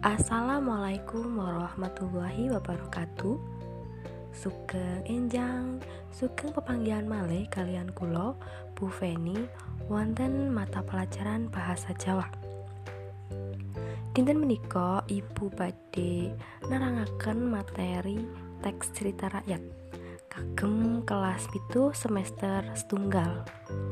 Assalamualaikum warahmatullahi wabarakatuh. Sugeng enjang, sugeng pepanggihan malih kalian kula Bu Feni wonten mata pelajaran bahasa Jawa. Dinten menika Ibu badhe nerangaken materi teks cerita rakyat kagem kelas 7 semester setunggal.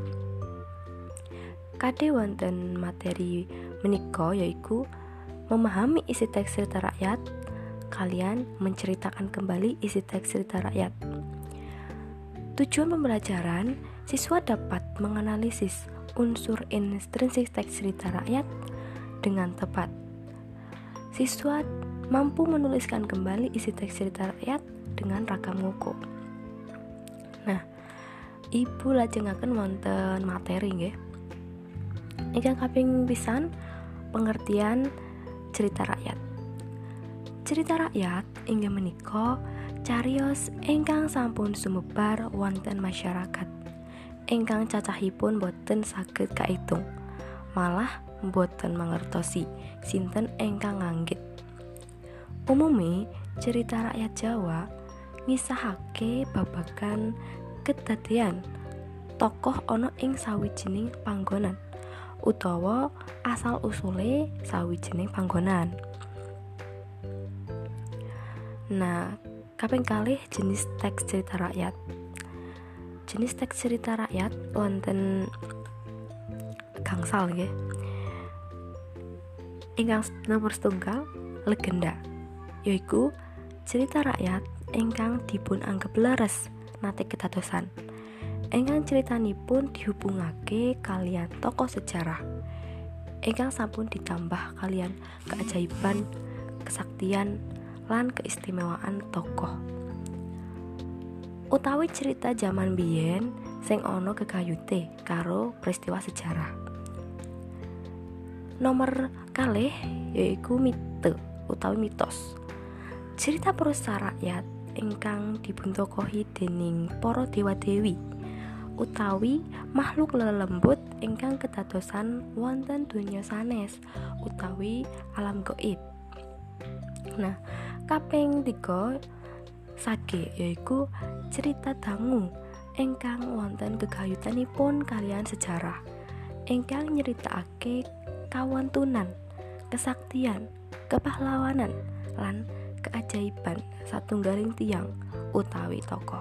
Kade wonten materi menika yaiku memahami isi teks cerita rakyat, kalian menceritakan kembali isi teks cerita rakyat. Tujuan pembelajaran, siswa dapat menganalisis unsur intrinsik teks cerita rakyat dengan tepat. Siswa mampu menuliskan kembali isi teks cerita rakyat dengan ragam ngoko. Nah, Ibu lajengaken wonten materi nggih. Ingkang kaping pisan pengertian cerita rakyat. Cerita rakyat inggih menika cariyos ingkang sampun sumebar wonten masyarakat, ingkang cacahipun boten saged kaitung, malah boten mangertosi sinten ingkang nganggit. Umume cerita rakyat Jawa ngisahake babagan kedadean tokoh ana ing sawijining panggonan utawa asal-usule sawijining panggonan. Nah, kaping kalih jenis teks cerita rakyat. Jenis teks cerita rakyat wonten gangsal nggih. Ingkang nomor setunggal legenda, yaiku cerita rakyat ingkang dipun anggep leres nate kedadosan. Ingkang critanipun dihubungake kalian tokoh sejarah ingkang sampun ditambah kalian keajaiban, kesaktian, lan keistimewaan tokoh. Utawi cerita jaman biyen sing ana gegayute karo peristiwa sejarah. Nomor kalih yaiku mite utawi mitos. Cerita prosa rakyat ingkang dibuntokohi dening para dewa-dewi utawi makhluk lelembut ingkang kedadosan wonten donya sanes utawi alam gaib. Nah, kaping 3 sage yaiku cerita dangu ingkang wonten gegayutanipun kalian sejarah ingkang nyeritakake kawontenan, kesaktian, kepahlawanan lan keajaiban satunggaling tiyang utawi tokoh.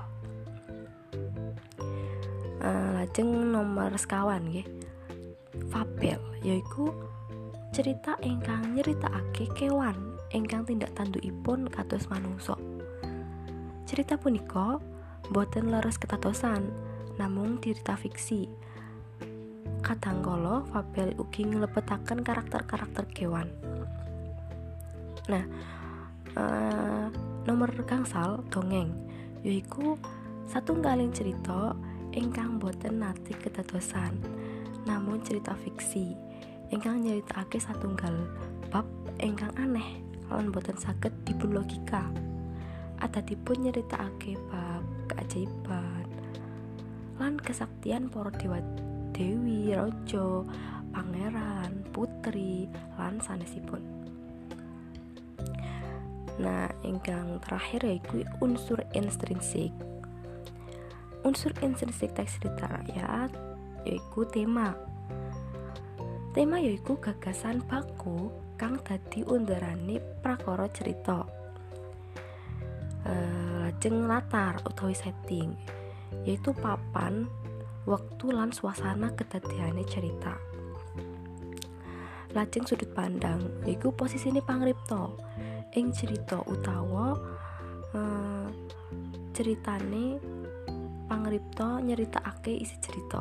Lajeng nomor sekawan nggih. Fabel yaiku cerita ingkang nyeritakake kewan ingkang tindak tandukipun kados manungsa. Cerita punika boten leres ketadosan, namung cerita fiksi. Kadangkala fabel ugi nglebetaken karakter-karakter kewan. Nah, nomor gangsal dongeng yaiku satunggaling cerita ingkang boten nate kedadosan, namun cerita fiksi ingkang nyeritakake satunggal bab ingkang aneh lan boten saged dipun logika. Adatipun nyeritakake bab keajaiban lan kesaktian para dewa dewi, raja, pangeran, putri lan sanesipun. Nah, ingkang terakhir yaiku unsur intrinsik. Unsur intrinsik teks cerita rakyat yaiku tema. Tema yaiku gagasan baku kang dadi underane prakara cerita. Lajeng latar utawi setting yaitu papan, wektu lan suasana kedadeane cerita. Lajeng sudut pandang yaiku posisine pangripta ing cerita utawa ceritane pangripta nyeritakake isi cerita.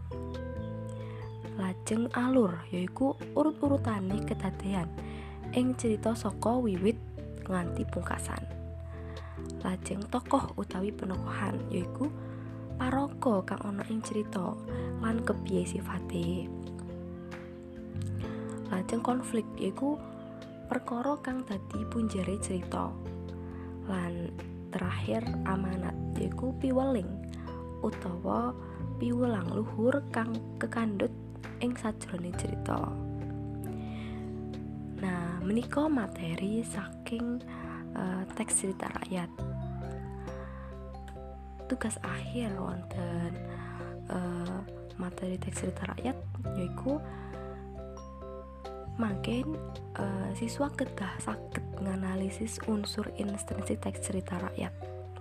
Lajeng alur yaiku urut-urutane kedadean ing cerita saka wiwit nganti pungkasan. Lajeng tokoh utawi penokohan yaiku paraga kang ana ing cerita lan kepiye sifate. Lajeng konflik yaiku perkara kang dadi punjere cerita. Lan terakhir amanat yaiku piweling utawa piwulang luhur kang kekandhut ing sajroning cerita. Nah, Menika materi saking teks cerita rakyat. Tugas akhir wonten materi teks cerita rakyat yaiku mangken siswa kedah saged nganalisis unsur instansi teks cerita rakyat.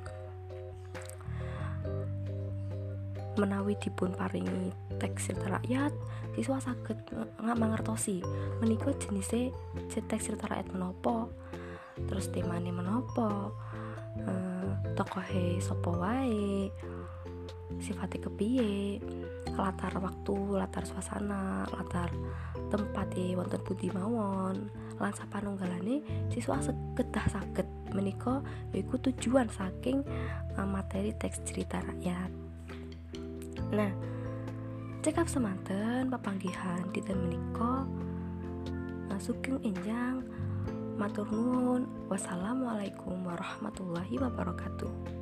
Menawi dipun paringi teks cerita rakyat, siswa saged mangertosi menika jenise teks cerita rakyat menapa, terus temane menapa, tokohe sapa wae, sifate kepiye, latar waktu, latar suasana, latar tempat wonten pundi mawon, lan sapanunggalane siswa kedah saged menika yaiku tujuan saking materi teks cerita rakyat. Nah, cekap semanten papanggihan dinten menika. Sugeng enjang matur nuwun. Wassalamualaikum warahmatullahi wabarakatuh.